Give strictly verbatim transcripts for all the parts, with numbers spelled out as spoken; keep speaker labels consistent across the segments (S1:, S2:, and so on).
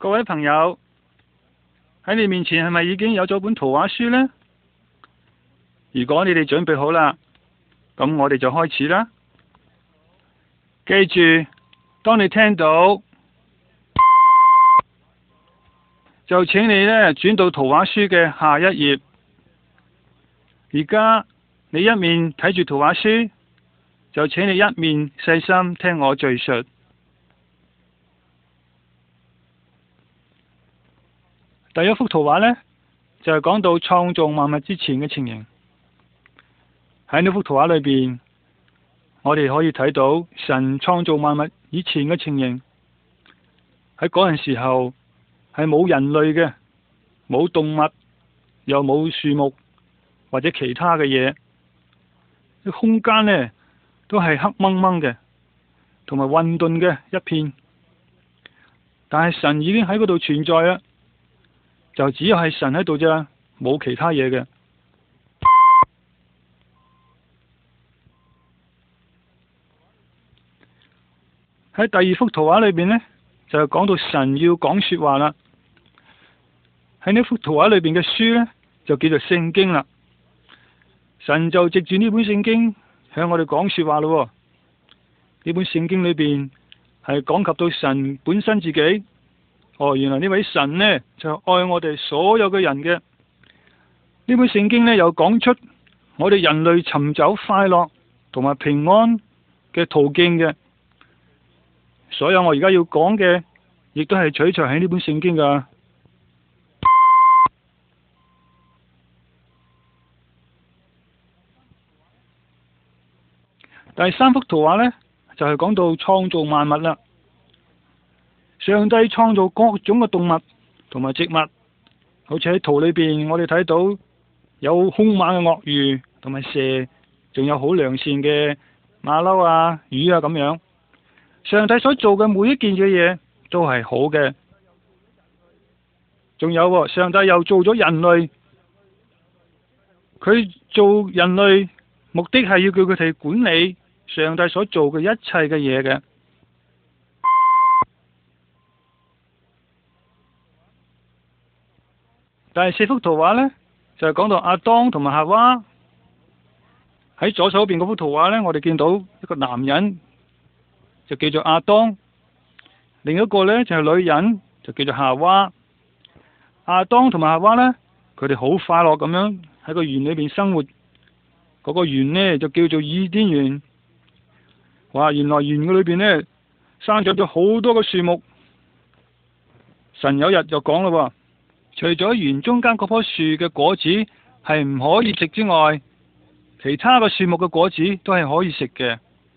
S1: 各位朋友，喺你面前係咪已經有咗本圖畫書呢？如果你哋準備好啦，咁我哋就開始啦。記住，當你聽到，就請你呢轉到圖畫書嘅下一頁。而家你一面睇住圖畫書，就請你一面細心聽我敘述。第一幅圖畫呢，就係講到創造萬物之前嘅情形。喺呢幅圖畫裏邊，我哋可以睇到神創造萬物以前嘅情形。喺嗰陣時候係冇人類嘅，冇動物，又冇樹木或者其他嘅嘢。啲空間呢都係黑掹掹嘅，同埋混沌嘅一片。但係神已經喺嗰度存在啦。就只有係神喺度啫，冇其他嘢嘅。喺第二幅圖畫裏邊呢，就係講到神要講說話啦。喺呢幅圖畫裏邊嘅書呢，就叫做聖經啦。神就藉住呢本聖經向我哋講說話咯。呢本聖經裏邊係講及到神本身自己。哦，原來呢位神呢，就愛我哋所有嘅人嘅。呢本聖經呢，又講出我哋人類尋找快樂同埋平安嘅途徑嘅。所有我而家要講嘅，亦都係取材喺呢本聖經噶。第三幅圖畫呢，就係講到創造萬物啦。上帝創造各種嘅動物同埋植物，好似喺圖裏邊，我哋睇到有兇猛嘅鱷魚同埋蛇，仲有好良善嘅馬騮啊、魚啊咁樣。上帝所做嘅每一件嘅嘢都係好嘅。仲有，上帝又做咗人類，佢做人類目的係要叫佢哋管理上帝所做嘅一切嘅嘢嘅。第四幅圖畫呢，就係講到亞當同埋夏娃。喺左手邊嗰幅圖畫呢，我哋見到一個男人就叫做亞當，另一個呢，就係女人就叫做夏娃。亞當同埋夏娃呢，佢哋好快樂咁樣喺個園裏邊生活。嗰個園呢，就叫做伊甸園。哇！原來園嘅裏邊呢，生長咗好多嘅樹木。神有日就講啦，除咗園中間嗰棵樹嘅果子係唔可以食之外，其他嘅樹木嘅果子都係可以食嘅。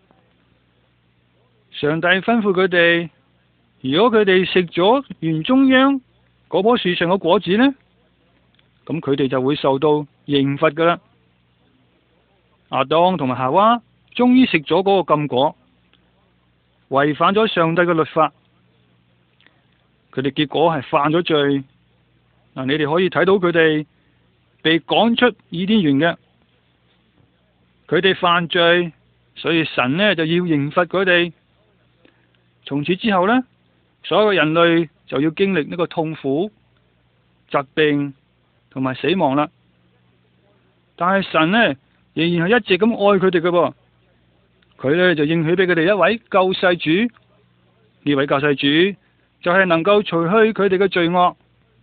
S1: 上帝吩咐佢哋，如果佢哋食咗園中央嗰棵樹上嘅果子呢，咁佢哋就會受到刑罰噶啦。亞當同埋夏娃終於食咗嗰個禁果，違反咗上帝嘅律法，佢哋結果係犯咗罪。嗱，你哋可以睇到佢哋被趕出伊甸園嘅，佢哋犯罪，所以神呢就要刑罰佢哋。從此之後呢，所有人類就要經歷呢個痛苦、疾病同埋死亡啦。但係神呢仍然係一直咁愛佢哋嘅噃，佢呢就應許俾佢哋一位救世主，呢位救世主就係能夠除去佢哋嘅罪惡。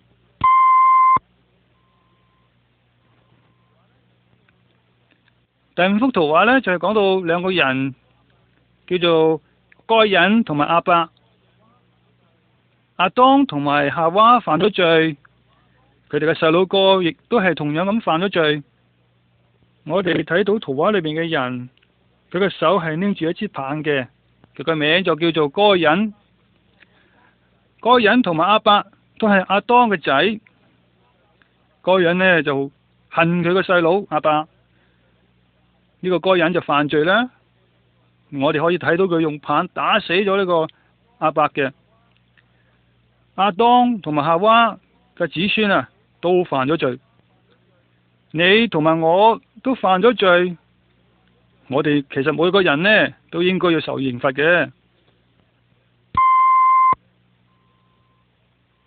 S1: 第五幅圖畫呢，就係講到兩個人，叫做該隱同埋亞伯。亞當同埋夏娃犯咗罪，佢哋嘅細佬哥亦都係同樣咁犯咗罪。我哋睇到圖畫裏面嘅人，佢嘅手係拎住一支棒嘅，佢個名就叫做該隱。該隱同埋亞伯都係亞當嘅仔。該隱呢就恨佢個細佬亞伯。呢個該隱就犯罪啦，我哋可以睇到佢用棒打死咗呢個亞伯嘅。亞當同埋夏娃嘅子孫啊，都犯咗罪。你同埋我都犯咗罪，我哋其實每個人呢都應該要受刑罰嘅。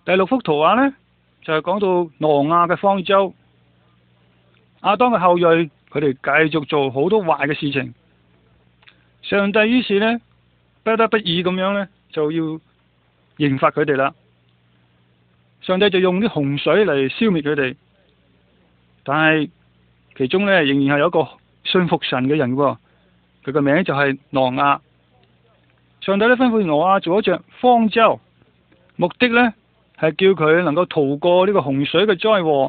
S1: 第六幅圖畫呢，就係講到挪亞嘅方舟，亞當嘅後裔佢哋繼續做好多壞嘅事情，上帝於是呢，不得不已咁樣呢，就要刑罰佢哋啦。上帝就用啲洪水嚟消滅佢哋，但係其中呢，仍然係有一個信服神嘅人喎，佢個名就係挪亞。上帝呢，吩咐挪亞做一隻方舟，目的呢，係叫佢能夠逃過呢個洪水嘅災禍。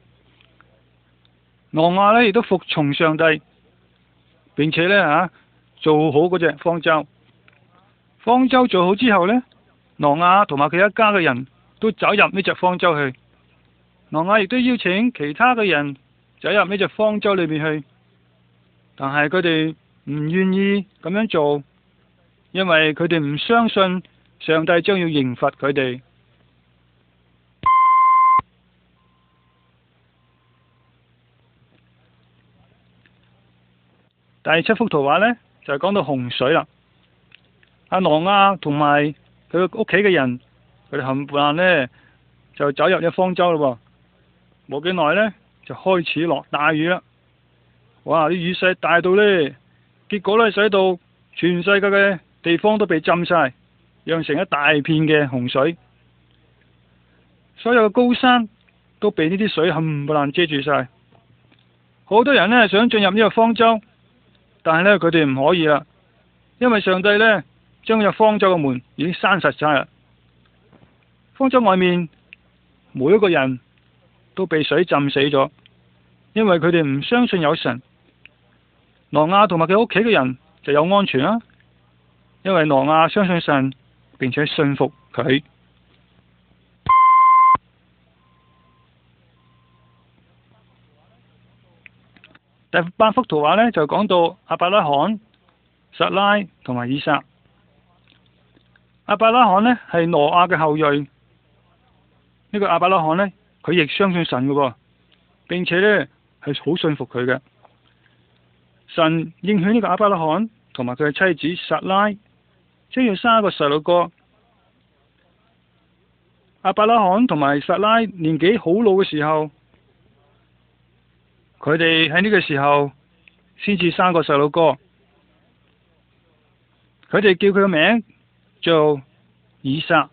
S1: 挪亞呢，亦都服從上帝，並且呢，啊做好嗰隻方舟。方舟做好之後呢，挪亞同埋佢一家嘅人都走入呢隻方舟去。挪亞亦都邀請其他嘅人走入呢隻方舟裏面去，但係佢哋唔願意咁樣做，因為佢哋唔相信上帝將要刑罰佢哋。第七幅圖畫呢，就係講到洪水啦。阿挪亞同埋佢屋企嘅人，佢哋冚唪唥呢就走入咗方舟咯。冇幾耐呢，就開始落大雨啦。哇！啲雨勢大到呢，結果呢，使到全世界嘅地方都被浸晒，釀成一大片嘅洪水。所有嘅高山都被呢啲水冚唪唥遮住晒。好多人呢，想進入呢個方舟，但係呢，佢哋唔可以啦，因為上帝呢，將呢個方舟嘅門已經閂實晒啦。方舟外面每一個人都被水浸死咗，因為佢哋唔相信有神。挪亞同埋佢屋企嘅人就有安全啦，因為挪亞相信神，並且信服佢。第八幅圖畫呢，就講到亞伯拉罕、撒拉同埋以撒。亞伯拉罕呢，係挪亞嘅後裔，呢、這個亞伯拉罕呢，佢亦相信神嘅，並且呢係好信服佢嘅。神應許呢個亞伯拉罕同埋佢嘅妻子撒拉將要生一個細路哥。亞伯拉罕同埋撒拉年紀好老嘅時候，佢哋喺呢個時候先至生個細路哥。佢哋叫佢個名做以撒。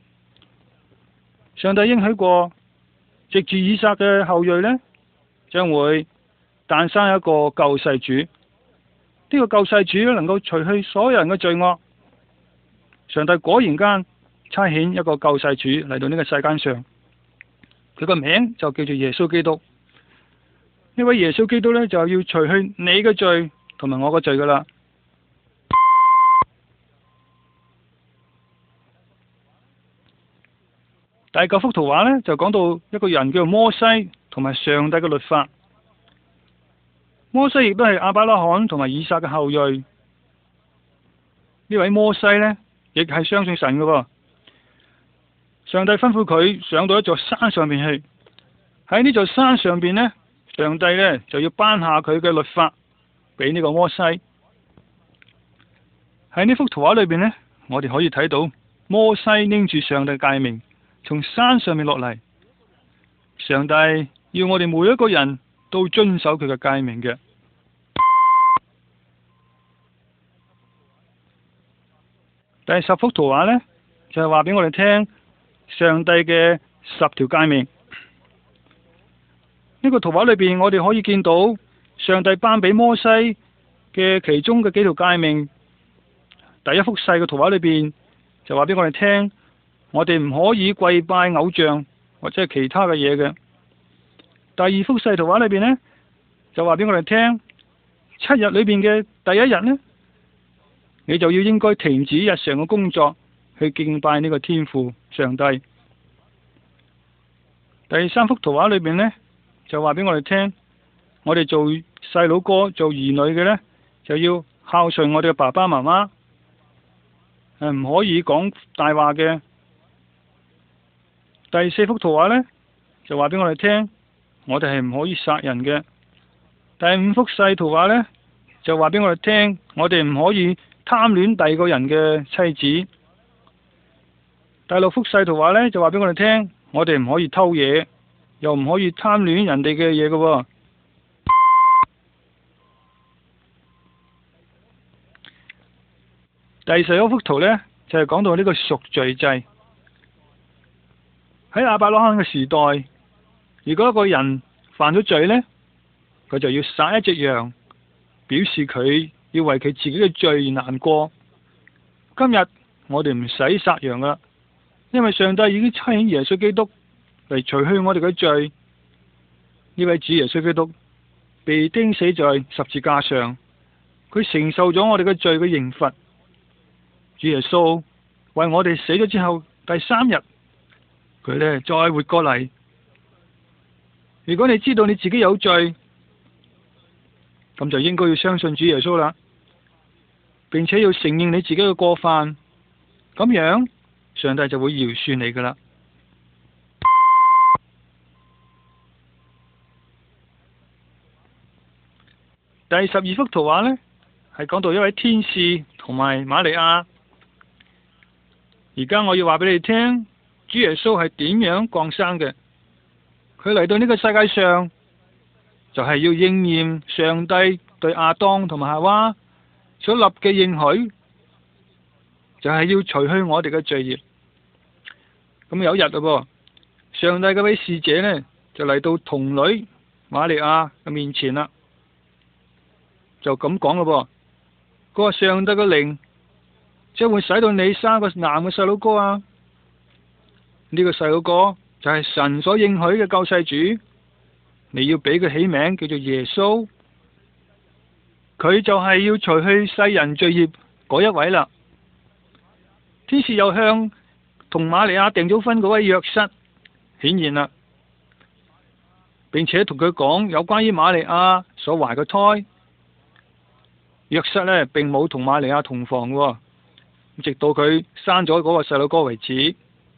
S1: 上帝應許過，藉住以撒嘅後裔呢，將會誕生一個救世主。呢、這個救世主能夠除去所有人嘅罪惡。上帝果然間差遣一個救世主嚟到呢個世間上，佢個名就叫做耶穌基督。呢位耶穌基督呢，就要除去你嘅罪同埋我嘅罪噶啦。第九幅圖畫呢，就講到一個人叫做摩西同埋上帝嘅律法。摩西亦都係亞伯拉罕同埋以撒嘅後裔。呢位摩西呢，亦係相信神嘅喎。上帝吩咐佢上到一座山上面去，喺呢座山上邊呢，上帝呢就要頒下佢嘅律法俾呢個摩西。喺呢幅圖畫裏邊呢，我哋可以睇到摩西拎住上帝嘅誡命從山上面落嚟。上帝要我哋每一個人都遵守佢嘅誡命嘅。第十幅圖畫呢，就係話俾我哋聽上帝嘅十條誡命。呢個圖畫裏邊，我哋可以見到上帝頒俾摩西嘅其中嘅幾條誡命。第一幅細嘅圖畫裏邊就話俾我哋聽，我哋唔可以跪拜偶像或者係其他嘅嘢嘅。第二幅細圖畫裏邊呢，就話俾我哋聽，七日裏邊嘅第一日呢，你就要應該停止日常嘅工作，去敬拜呢個天父上帝。第三幅圖畫裏邊呢，就話俾我哋聽，我哋做細佬哥做兒女嘅呢，就要孝順我哋嘅爸爸媽媽，誒唔可以講大話嘅。第四幅圖畫呢，就話俾我哋聽，我哋係唔可以殺人嘅。第五幅細圖畫呢，就話俾我哋聽，我哋唔可以貪戀第二個人嘅妻子。 第六幅細圖畫呢，就話俾我哋聽，我哋唔可以偷嘢，又唔可以貪戀人哋嘅嘢嘅。第十一幅圖呢，就係講到呢個贖罪祭。喺亞伯拉罕嘅時代，如果一個人犯咗罪呢，佢就要殺一隻羊，表示佢要為佢自己嘅罪而難過。今日我哋唔使殺羊啦，因為上帝已經差遣耶穌基督嚟除去我哋嘅罪。呢位主耶穌基督被釘死在十字架上，佢承受咗我哋嘅罪嘅刑罰。主耶穌為我哋死咗之後，第三日佢呢再活過嚟。如果你知道你自己有罪，咁就應該要相信主耶穌啦，並且要承認你自己嘅過犯，咁樣上帝就會饒恕你噶啦。第十二幅圖畫呢，係講到一位天使同埋瑪利亞。而家我要話俾你聽，主耶穌係點樣降生嘅？佢嚟到呢個世界上，就係要應驗上帝對亞當同埋夏娃所立嘅應許，就係要除去我哋嘅罪孽。咁有一日咯，上帝嗰位使者呢，就嚟到童女瑪利亞嘅面前啦，就咁講咯噃，佢話上帝嘅靈將會使到你生個男嘅細佬哥啊！呢個細佬哥就係神所應許嘅救世主，你要俾佢起名叫做耶穌，佢就係要除去世人罪孽嗰一位啦。天使又向同瑪利亞訂咗婚嗰位約瑟顯現啦，並且同佢講有關於瑪利亞所懷嘅胎。約瑟呢並冇同瑪利亞同房嘅，直到佢生咗嗰個細佬哥為止。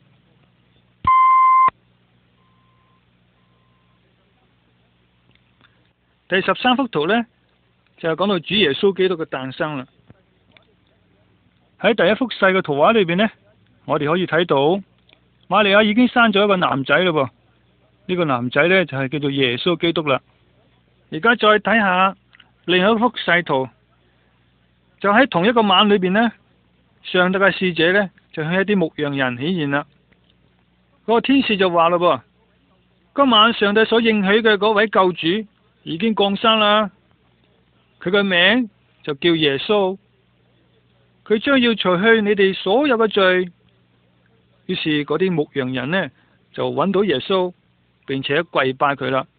S1: 第十三幅圖呢，就係講到主耶穌基督嘅誕生啦。喺第一幅細嘅圖畫裏邊呢，我哋可以睇到瑪利亞已經生咗一個男仔嘞噃。呢個男仔呢，就係叫做耶穌基督啦。而家再睇下另一幅細圖，就喺同一個晚裏邊呢，上帝嘅使者呢，就向一啲牧羊人顯現啦。嗰個天使就話嘞噃，今晚上帝所應許嘅嗰位救主已經降生啦，佢嘅名就叫耶穌，佢將要除去你哋所有嘅罪。於是嗰啲牧羊人呢，就揾到耶穌，並且跪拜佢啦。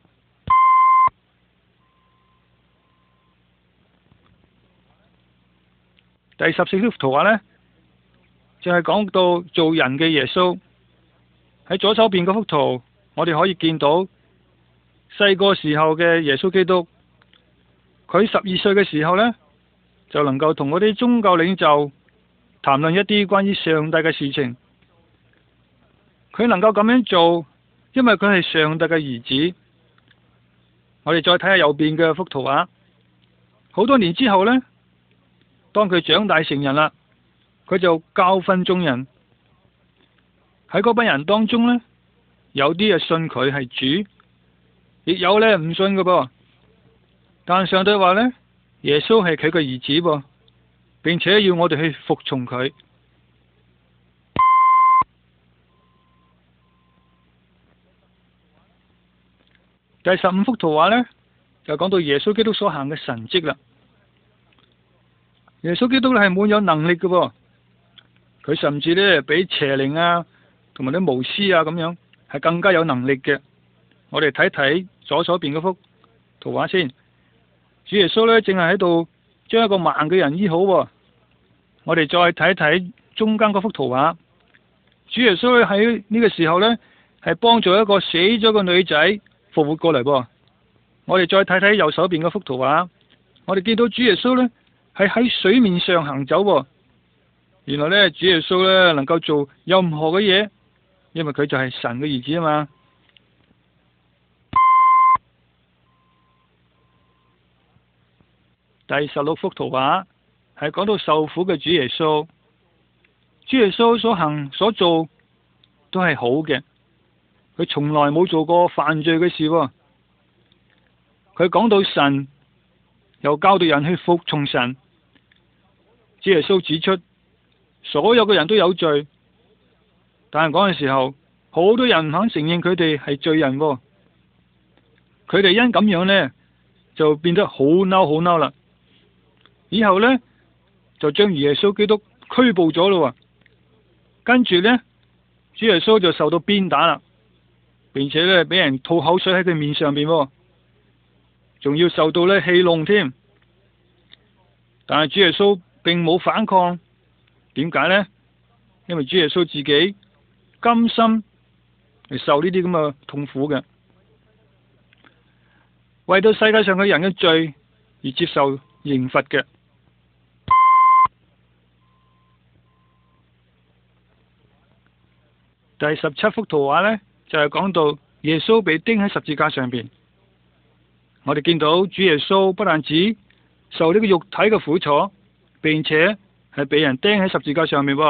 S1: 第十四幅圖畫呢，就係講到做人嘅耶穌。喺左手邊嗰幅圖，我哋可以見到細個時候嘅耶穌基督。佢十二歲嘅時候呢，就能夠同嗰啲宗教領袖談論一啲關於上帝嘅事情。佢能夠咁樣做，因為佢係上帝嘅兒子。我哋再睇下右邊嘅幅圖畫。好多年之後呢，當佢長大成人啦，佢就教訓眾人。喺嗰班人當中呢，有啲係信佢係主，亦有呢唔信嘅噃。但上帝話呢，耶穌係佢嘅兒子噃，並且要我哋去服從佢。第十五幅圖畫呢，就講到耶穌基督所行嘅神蹟啦。耶穌基督係滿有能力嘅噃，佢甚至呢比邪靈啊同埋啲巫師啊咁樣係更加有能力嘅。我哋睇睇左手邊嗰幅圖畫先。主耶穌呢正係喺度將一個盲嘅人醫好。我哋再睇睇中間嗰幅圖畫。主耶穌喺呢個時候呢係幫助一個死咗嘅女仔復活過嚟噃。我哋再睇睇右手邊嗰幅圖畫。我哋見到主耶穌呢係喺水面上行走喎。原來呢，主耶穌呢能夠做任何嘅嘢，因為佢就係神嘅兒子啊嘛。第十六幅圖畫係講到受苦嘅主耶穌。 主耶穌所行所做都係好嘅，佢從來冇做過犯罪嘅事喎。佢講到神，又教導人去服從神。主耶穌指出，所有嘅人都有罪，但係嗰陣時候，好多人唔肯承認佢哋係罪人喎。佢哋因咁樣呢，就變得好嬲好嬲啦。以後呢，就將耶穌基督拘捕咗咯。跟住呢，主耶穌就受到鞭打啦，並且呢，俾人吐口水喺佢面上邊，仲要受到呢戲弄添。但係主耶穌並冇反抗，點解呢？因為主耶穌自己甘心嚟受呢啲咁嘅痛苦嘅，為到世界上嘅人嘅罪而接受刑罰嘅。第十七幅圖畫呢，就係講到耶穌被釘喺十字架上邊。我哋見到主耶穌不但止受呢個肉體嘅苦楚，並且係被人釘喺十字架上面。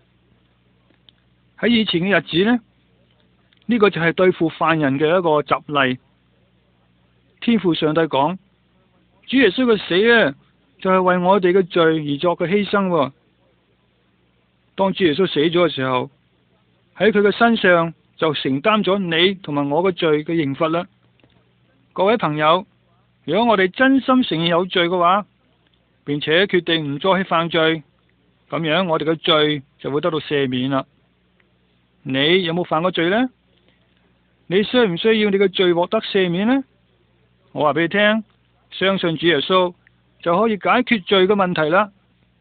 S1: 喺以前嘅日子呢，呢個就係對付犯人嘅一個習例。天父上帝講，主耶穌嘅死呢，就係為我哋嘅罪而作嘅犧牲。當主耶穌死咗嘅時候，喺佢嘅身上就承擔咗你同埋我嘅罪嘅刑罰啦。各位朋友，如果我哋真心承認有罪嘅話，並且決定唔再去犯罪，咁樣我哋嘅罪就會得到赦免啦。你有冇犯過罪呢？你需唔需要你嘅罪獲得赦免呢？我話俾你聽，相信主耶穌就可以解決罪嘅問題啦。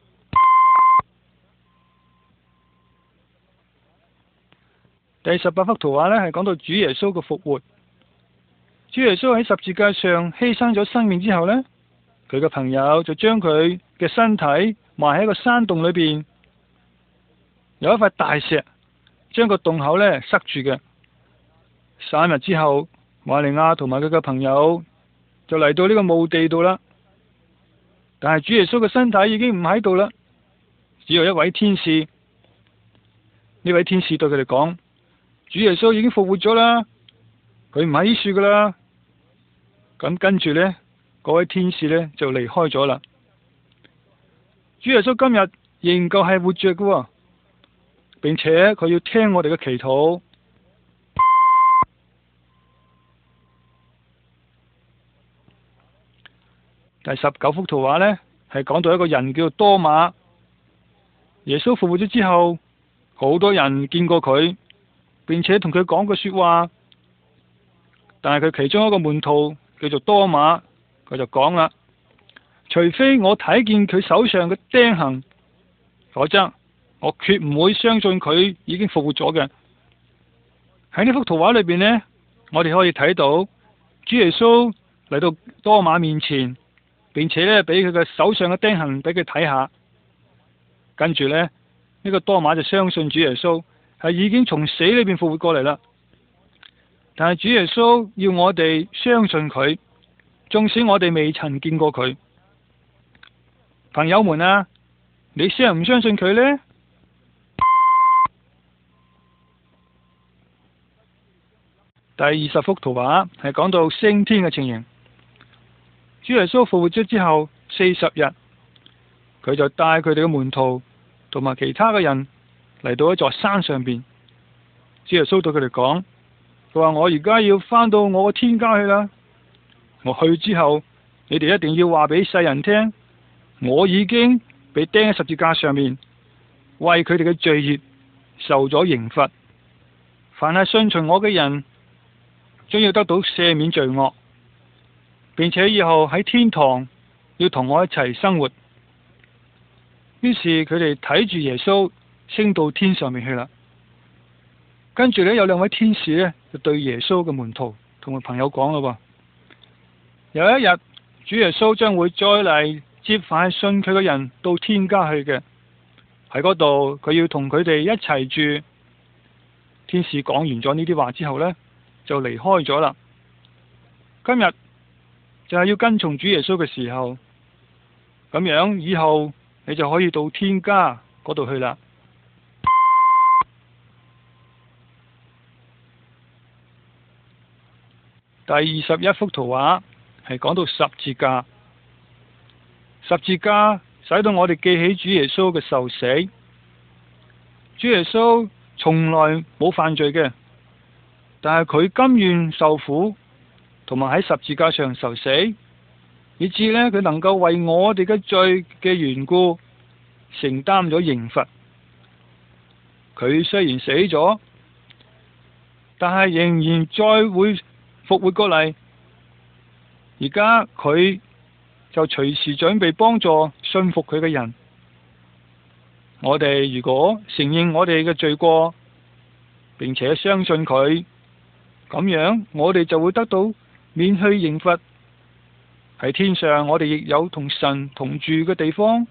S1: 第十八幅圖畫呢，係講到主耶穌嘅復活。主耶穌喺十字架上犧牲咗生命之後呢，佢嘅朋友就將佢嘅身體埋喺個山洞裏邊，有一塊大石將個洞口呢塞住嘅。三日之後，瑪利亞同埋佢嘅朋友就嚟到呢個墓地度啦。但係主耶穌嘅身體已經唔喺度啦，只有一位天使。呢位天使對佢哋講：主耶穌已經復活咗啦，佢唔喺呢處噶啦。咁跟住呢，嗰位天使呢就離開咗啦。主耶穌今日仍舊係活着嘅，並且佢要聽我哋嘅祈禱。第十九幅圖畫呢，係講到一個人叫做多馬。耶穌復活咗之後，好多人見過佢，並且同佢講過說話。但係佢其中一個門徒叫做多馬，佢就講啦：除非我睇見佢手上嘅釘痕，否則我決唔會相信佢已經復活咗嘅。喺呢幅圖畫裏邊呢，我哋可以睇到主耶穌嚟到多馬面前，並且呢俾佢嘅手上嘅釘痕俾佢睇下。跟住呢，呢個多馬就相信主耶穌係已經從死裏邊復活過嚟啦。但係主耶穌要我哋相信佢，縱使我哋未曾見過佢。朋友們啊，你相唔相信佢呢？第二十幅圖畫係講到升天嘅情形。主耶穌復活咗之後四十日，佢就帶佢哋嘅門徒同埋其他嘅人嚟到一座山上邊。主耶穌對佢哋講：佢話我而家要返到我個天家去啦。我去之後，你哋一定要話俾世人聽，我已經被釘喺十字架上面，為佢哋嘅罪孽受咗刑罰。凡係信從我嘅人，將要得到赦免罪惡，並且以後喺天堂要同我一齊生活。於是佢哋睇住耶穌升到天上面去啦。跟住呢，有兩位天使呢，就對耶穌嘅門徒同埋朋友講咯：有一日主耶穌將會再嚟接返信佢嘅人到天家去嘅，喺嗰度佢要同佢哋一齊住。天使講完咗呢啲話之後呢，就離開咗啦。今日就係要跟從主耶穌嘅時候，咁樣以後你就可以到天家嗰度去啦。 第二十一幅圖畫係講到十字架，十字架使到我哋記起主耶穌嘅受死。主耶穌從來冇犯罪嘅，但係佢甘願受苦，同埋喺十字架上受死，以致呢，佢能夠為我哋嘅罪嘅緣故承擔咗刑罰。佢雖然死咗，但係仍然再會復活過嚟。而家佢就隨時準備幫助信服佢嘅人。我哋如果承認我哋嘅罪過，並且相信佢，咁樣我哋就會得到免去刑罰。喺天上，我哋亦有同神同住嘅地方。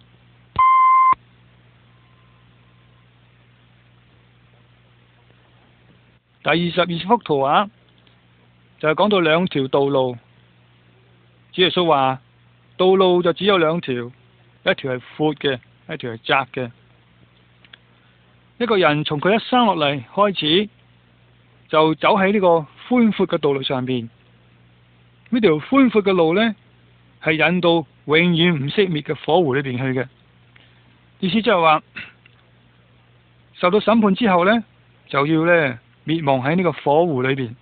S1: 第二十二幅圖畫就係講到兩條道路。主耶穌話，道路就只有兩條，一條係闊嘅，一條係窄嘅。一個人從佢一生落嚟開始，就走喺呢個寬闊嘅道路上面。呢條寬闊嘅路呢，係引到永遠唔熄滅嘅火湖裏邊去嘅。意思就係話，受到審判之後呢，就要呢滅亡喺呢個火湖裏邊。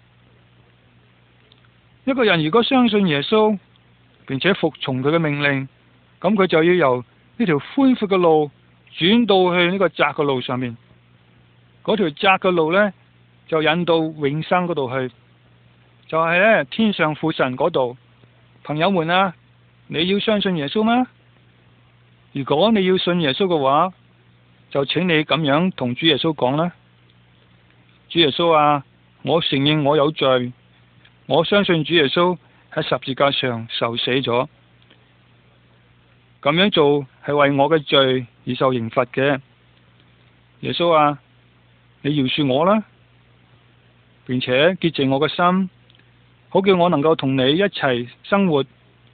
S1: 一個人如果相信耶穌，並且服從佢嘅命令，咁佢就要由呢條寬闊嘅路轉到去呢個窄嘅路上面。嗰條窄嘅路呢，就引到永生嗰度去，就係呢天上父神嗰度。朋友們啊，你要相信耶穌嗎？如果你要信耶穌嘅話，就請你咁樣同主耶穌講啦。主耶穌啊，我承認我有罪，我相信主耶穌喺十字架上受死咗，咁樣做係為我嘅罪而受刑罰嘅。耶穌啊，你饒恕我啦，並且潔淨我嘅心，好叫我能夠同你一齊生活。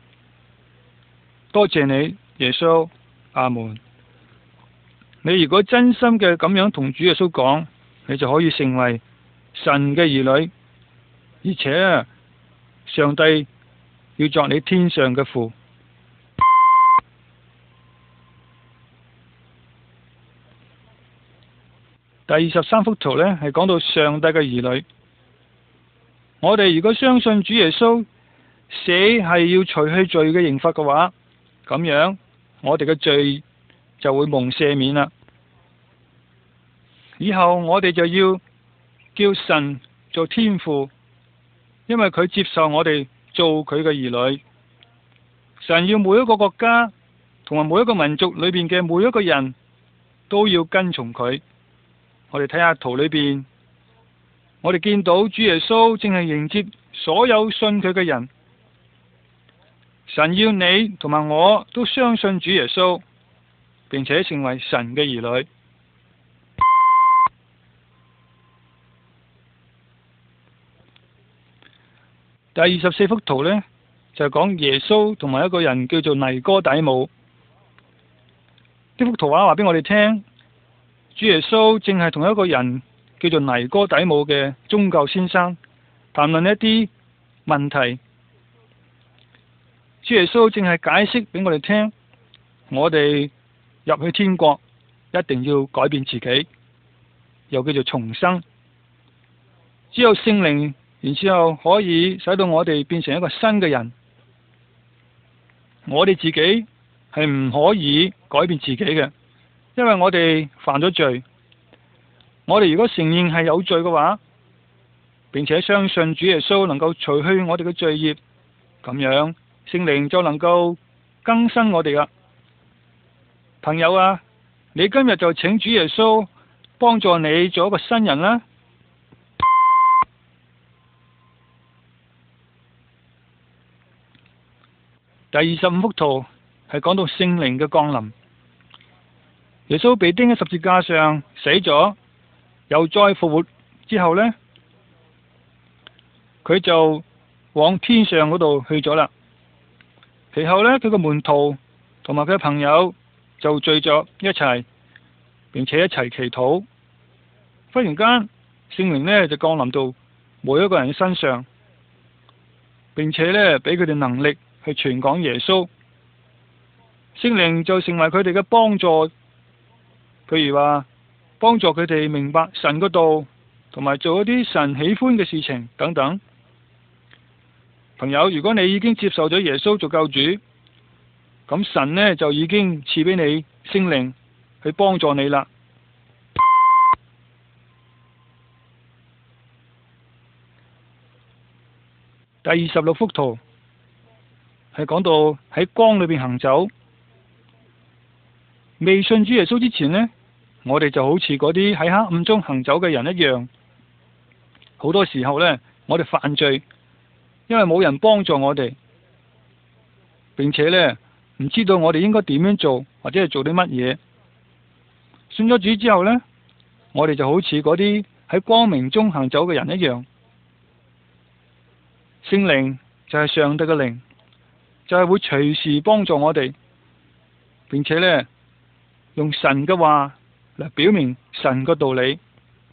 S1: 多謝你，耶穌，阿門。你如果真心嘅咁樣同主耶穌講，你就可以成為神嘅兒女，而且上帝要作你天上嘅父。第二十三幅圖呢，係講到上帝嘅兒女。我哋如果相信主耶穌死係要除去罪嘅刑罰嘅話，咁樣我哋嘅罪就會蒙赦免啦。以後我哋就要叫神做天父，因為佢接受我哋做佢嘅兒女。神要每一個國家同埋每一個民族裏邊嘅每一個人都要跟從佢。我哋睇下圖裏邊，我哋見到主耶穌正係迎接所有信佢嘅人。神要你同埋我都相信主耶穌，並且成為神嘅兒女。第二十四幅圖呢，就係講耶穌同埋一個人叫做尼哥底母。呢幅圖畫話俾我哋聽，主耶穌正係同一個人叫做尼哥底母嘅宗教先生談論一啲問題。主耶穌正係解釋俾我哋聽，我哋入去天國一定要改變自己，又叫做重生。只有聖靈，然之後可以使到我哋變成一個新嘅人。我哋自己係唔可以改變自己嘅，因為我哋犯咗罪。我哋如果承認係有罪嘅話，並且相信主耶穌能夠除去我哋嘅罪孽，咁樣聖靈就能夠更新我哋啦。朋友啊，你今日就請主耶穌幫助你做一個新人啦。第二十五幅圖係講到聖靈嘅降臨。耶穌被釘喺十字架上死咗，又再復活之後呢，佢就往天上嗰度去咗啦。其後呢，佢個門徒同埋佢嘅朋友就聚咗一齊，並且一齊祈禱。忽然間，聖靈呢就降臨到每一個人嘅身上。 並且呢俾佢哋能力去傳講耶穌。聖靈就成為佢哋嘅幫助，譬如話幫助佢哋明白神嗰道，同埋做一啲神喜歡嘅事情等等。朋友，如果你已經接受咗耶穌做救主，咁神呢就已經賜俾你聖靈去幫助你啦。第二十六幅圖係講到喺光裏邊行走。未信主耶穌之前呢，我哋就好似嗰啲喺黑暗中行走嘅人一樣。好多時候呢，我哋犯罪，因為冇人幫助我哋，並且呢唔知道我哋應該點樣做，或者係做啲乜嘢。信咗主之後呢，我哋就好似嗰啲喺光明中行走嘅人一樣。聖靈就係上帝嘅靈，就係會隨時幫助我哋，並且呢用神嘅話嚟表明神嘅道理。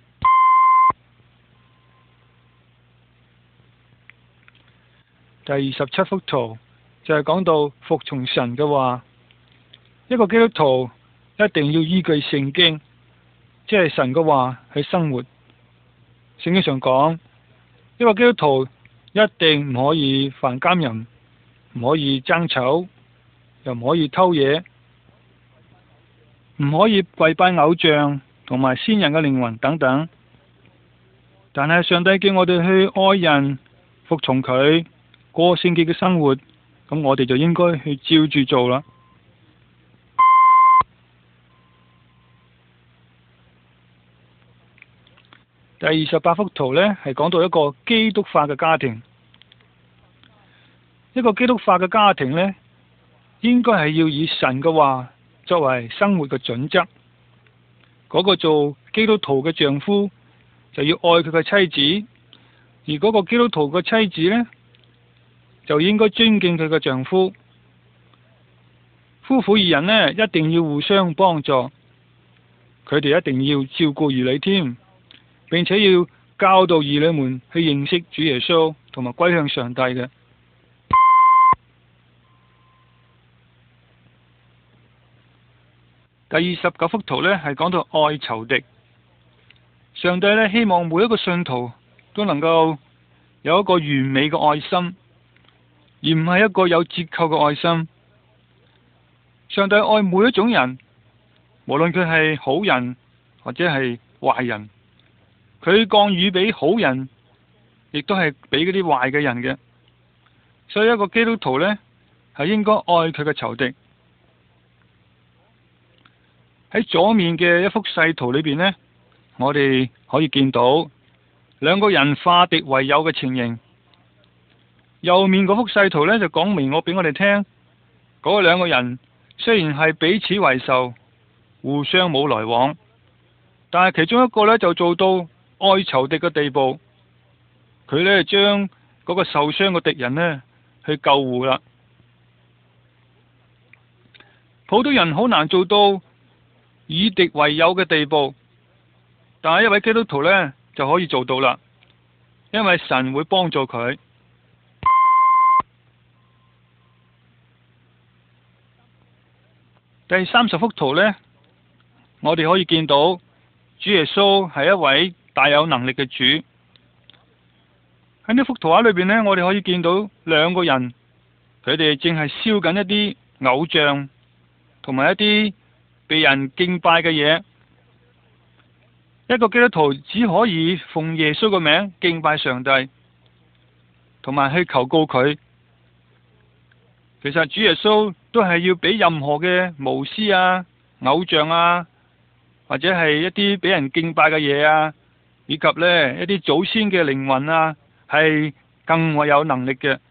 S1: 第二十七幅圖就係講到服從神嘅話。一個基督徒一定要依據聖經，即係神嘅話去生活。聖經上講，一個基督徒一定唔可以犯奸淫，唔可以爭吵，又唔可以偷嘢，唔可以跪拜偶像同埋先人嘅靈魂等等。但係上帝叫我哋去愛人，服從佢，過聖潔嘅生活，咁我哋就應該去照住做啦。第二十八幅圖呢，係講到一個基督化嘅家庭。一個基督化嘅家庭呢，應該係要以神嘅話作為生活嘅準則。嗰個做基督徒嘅丈夫就要愛佢嘅妻子，而嗰個基督徒嘅妻子呢，就應該尊敬佢嘅丈夫。夫婦二人呢，一定要互相幫助，佢哋一定要照顧兒女添，並且要教導兒女們去認識主耶穌同埋歸向上帝嘅。第二十九幅圖呢，係講到愛仇敵。上帝呢，希望每一個信徒都能夠有一個完美嘅愛心，而唔係一個有折扣嘅愛心。上帝愛每一種人，無論佢係好人或者係壞人，佢降雨俾好人，亦都係俾嗰啲壞嘅人嘅。所以一個基督徒呢，係應該愛佢嘅仇敵。喺左面嘅一幅細圖裏邊呢，我哋可以見到兩個人化敵為友嘅情形。右面嗰幅細圖呢，就講明我俾我哋聽，嗰兩個人雖然係彼此為仇，互相冇來往，但係其中一個呢，就做到愛仇敵嘅地步，佢呢，將嗰個受傷嘅敵人呢去救護啦。普通人好難做到以敵為友嘅地步，但係一位基督徒呢，就可以做到啦，因為神會幫助佢。第三十幅圖呢，我哋可以見到主耶穌係一位大有能力嘅主。喺呢幅圖畫裏邊呢，我哋可以見到兩個人，佢哋正係燒緊一啲偶像同埋一啲被人敬拜嘅嘢。一個基督徒只可以奉耶穌嘅名敬拜上帝，同埋去求告佢。其實主耶穌都係要俾任何嘅巫師啊、偶像啊，或者係一啲俾人敬拜嘅嘢啊，以及呢一啲祖先嘅靈魂啊，係更為有能力嘅。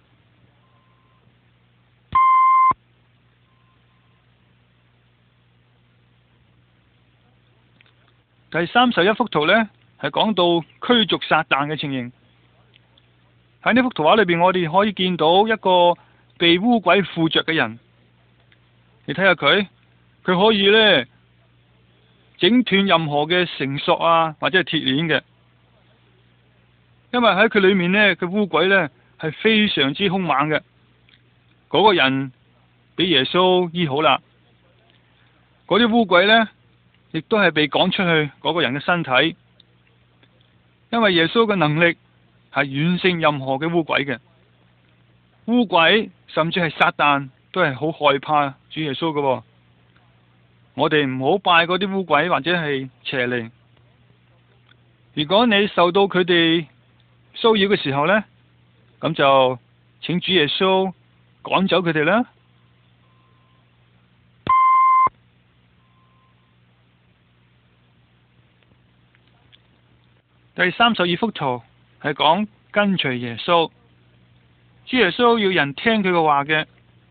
S1: 第三十一幅圖呢，係講到驅逐撒旦嘅情形。喺呢幅圖畫裏邊，我哋可以見到一個被污鬼附着嘅人。你睇下佢，佢可以呢整斷任何嘅繩索啊，或者係鐵鏈嘅。因為喺佢裏面呢，佢污鬼呢係非常之兇猛嘅。嗰個人俾耶穌醫好啦。嗰啲污鬼呢，亦都係被趕出去嗰個人嘅身體，因為耶穌嘅能力係遠勝任何嘅污鬼嘅。污鬼甚至係撒旦都係好害怕主耶穌嘅。我哋唔好拜嗰啲污鬼或者係邪靈。如果你受到佢哋騷擾嘅時候呢，咁就請主耶穌趕走佢哋啦。第三十二幅圖係講跟隨耶穌。主耶穌要人聽佢嘅話嘅。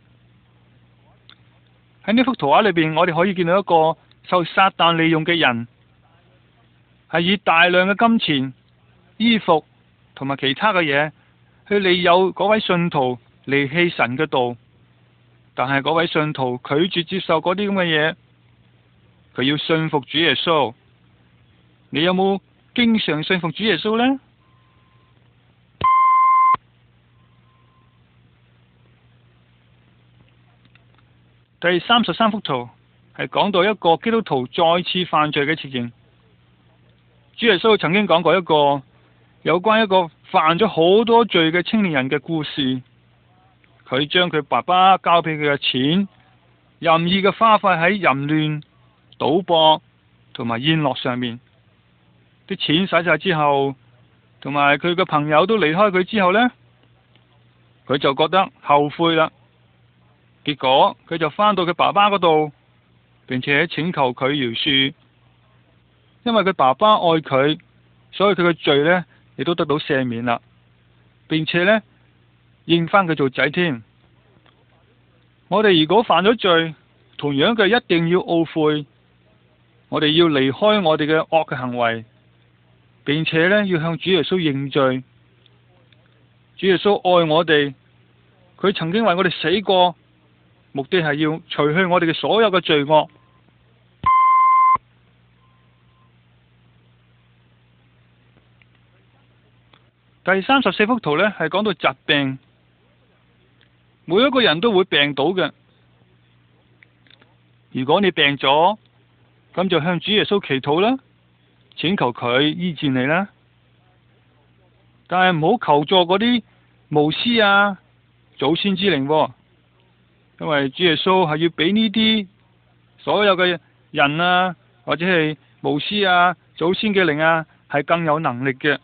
S1: 喺呢幅圖畫裏邊，我哋可以見到一個受撒旦利用嘅人，係以大量嘅金錢、衣服同埋其他嘅嘢去利誘嗰位信徒離棄神嘅道。但係嗰位信徒拒絕接受嗰啲咁嘅嘢，佢要信服主耶穌。你有冇經常信服主耶穌呢？第三十三幅圖係講到一個基督徒再次犯罪嘅情形。主耶穌曾經講過一個有關一個犯咗好多罪嘅青年人嘅故事。佢將佢爸爸交俾佢嘅錢任意嘅花費喺淫亂、賭博同埋宴樂上面。啲錢使晒之後，同埋佢嘅朋友都離開佢之後呢，佢就覺得後悔啦。結果佢就返到佢爸爸嗰度，並且請求佢饒恕，因為佢爸爸愛佢，所以佢嘅罪呢亦都得到赦免啦，並且呢認返佢做仔添。我哋如果犯咗罪，同樣嘅一定要懊悔，我哋要離開我哋嘅惡嘅行為，並且呢要向主耶穌認罪。主耶穌愛我哋，佢曾經為我哋死過。目的係要除去我哋嘅所有嘅罪惡。第三十四幅圖呢係講到疾病，每一個人都會病倒嘅。如果你病咗，咁就向主耶穌祈禱啦，請求佢醫治你啦。但係唔好求助嗰啲巫師啊、祖先之靈喎。因為主耶穌係要俾呢啲所有嘅人啊，或者係巫師啊、祖先嘅靈啊，係更有能力嘅。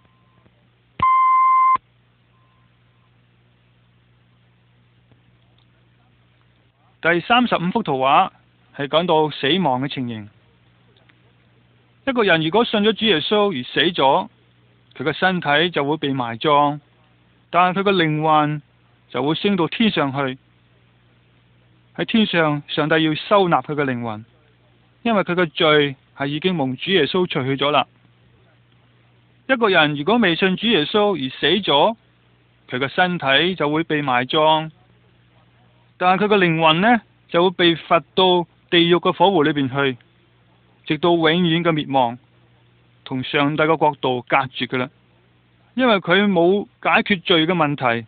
S1: 第三十五幅圖畫係講到死亡嘅情形。一個人如果信咗主耶穌而死咗，佢嘅身體就會被埋葬，但係佢嘅靈魂就會升到天上去。喺天上，上帝要收納佢嘅靈魂，因為佢嘅罪係已經蒙主耶穌除去咗啦。一個人如果未信主耶穌而死咗，佢嘅身體就會被埋葬，但係佢嘅靈魂呢就會被罰到地獄嘅火湖裏邊去，直到永遠嘅滅亡，同上帝嘅國度隔絕㗎啦。因為佢冇解決罪嘅問題。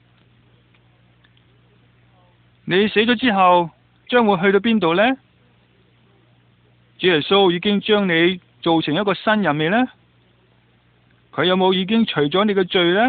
S1: 你死咗之後，將會去到邊度呢？主耶穌已經將你做成一個新人未呢？佢有冇已經除咗你嘅罪呢？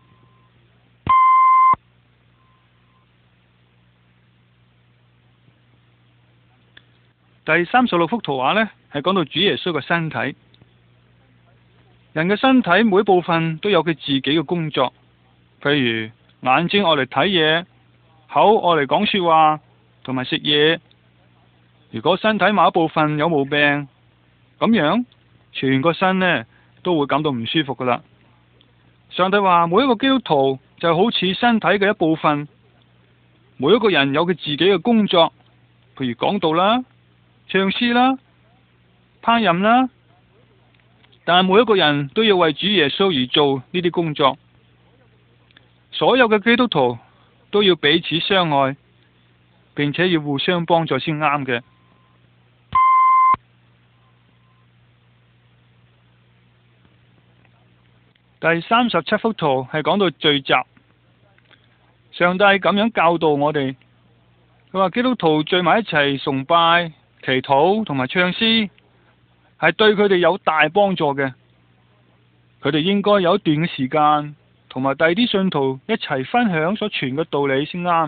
S1: 第三十六幅圖畫呢，係講到主耶穌嘅身體。人嘅身體每一部分都有佢自己嘅工作，譬如眼睛愛嚟睇嘢，口愛嚟講說話，同埋食嘢。如果身體某一部分有毛病，咁樣全個身呢都會感到唔舒服噶啦。上帝話每一個基督徒就好似身體嘅一部分，每一個人有佢自己嘅工作，譬如講道啦、唱詩啦、烹飪啦。但係每一個人都要為主耶穌而做呢啲工作。所有嘅基督徒都要彼此相愛，並且要互相幫助先啱嘅。第三十七幅圖係講到聚集。 上帝咁樣教導我哋，佢話基督徒聚埋一齊崇拜、祈禱同埋唱詩，係對佢哋有大幫助嘅。佢哋應該有一段嘅時間，同埋第二啲信徒一齊分享所傳嘅道理先啱。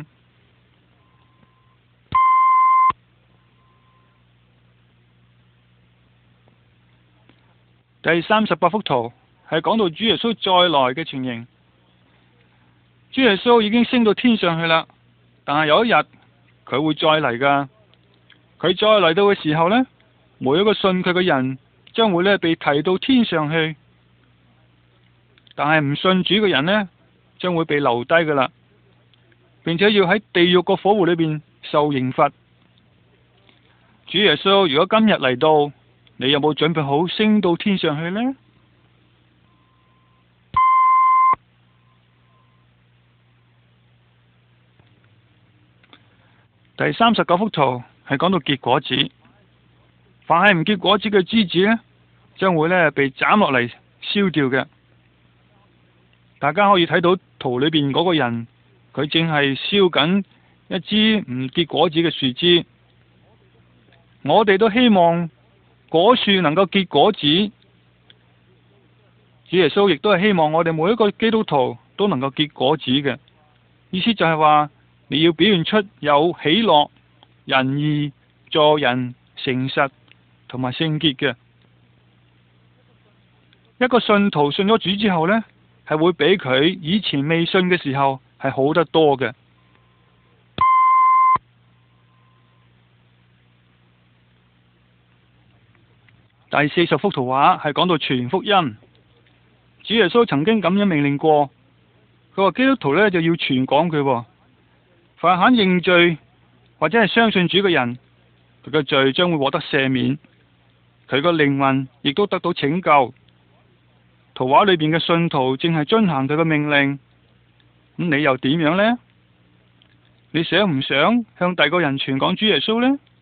S1: 第三十八幅圖係講到主耶穌再來嘅情形。主耶穌已經升到天上去啦，但係有一日佢會再嚟噶。佢再嚟到嘅時候呢，每一個信佢嘅人將會呢被提到天上去，但係唔信主嘅人呢，將會被留低噶啦，並且要喺地獄個火湖裏邊受刑罰。主耶穌如果今日嚟到，你有冇準備好升到天上去呢？第三十九幅圖係講到結果子，凡係唔結果子嘅枝子呢，將會呢被斬落嚟燒掉嘅。大家可以睇到圖裏邊嗰個人，佢正係燒緊一支唔結果子嘅樹枝。我哋都希望果樹能夠結果子，主耶穌亦都係希望我哋每一個基督徒都能夠結果子嘅。意思就係話，你要表現出有喜樂、仁義、助人、誠實同埋聖潔嘅。一個信徒信咗主之後呢，係會比佢以前未信嘅時候係好得多嘅。第四十幅圖畫係講到傳福音。主耶穌曾經咁樣命令過，佢話基督徒呢就要傳講佢，凡肯認罪或者係相信主嘅人，佢嘅罪將會獲得赦免，佢個靈魂亦都得到拯救。圖畫裏邊嘅信徒正係遵行佢嘅命令，咁你又點樣呢？你想唔想向第二個人傳講主耶穌呢？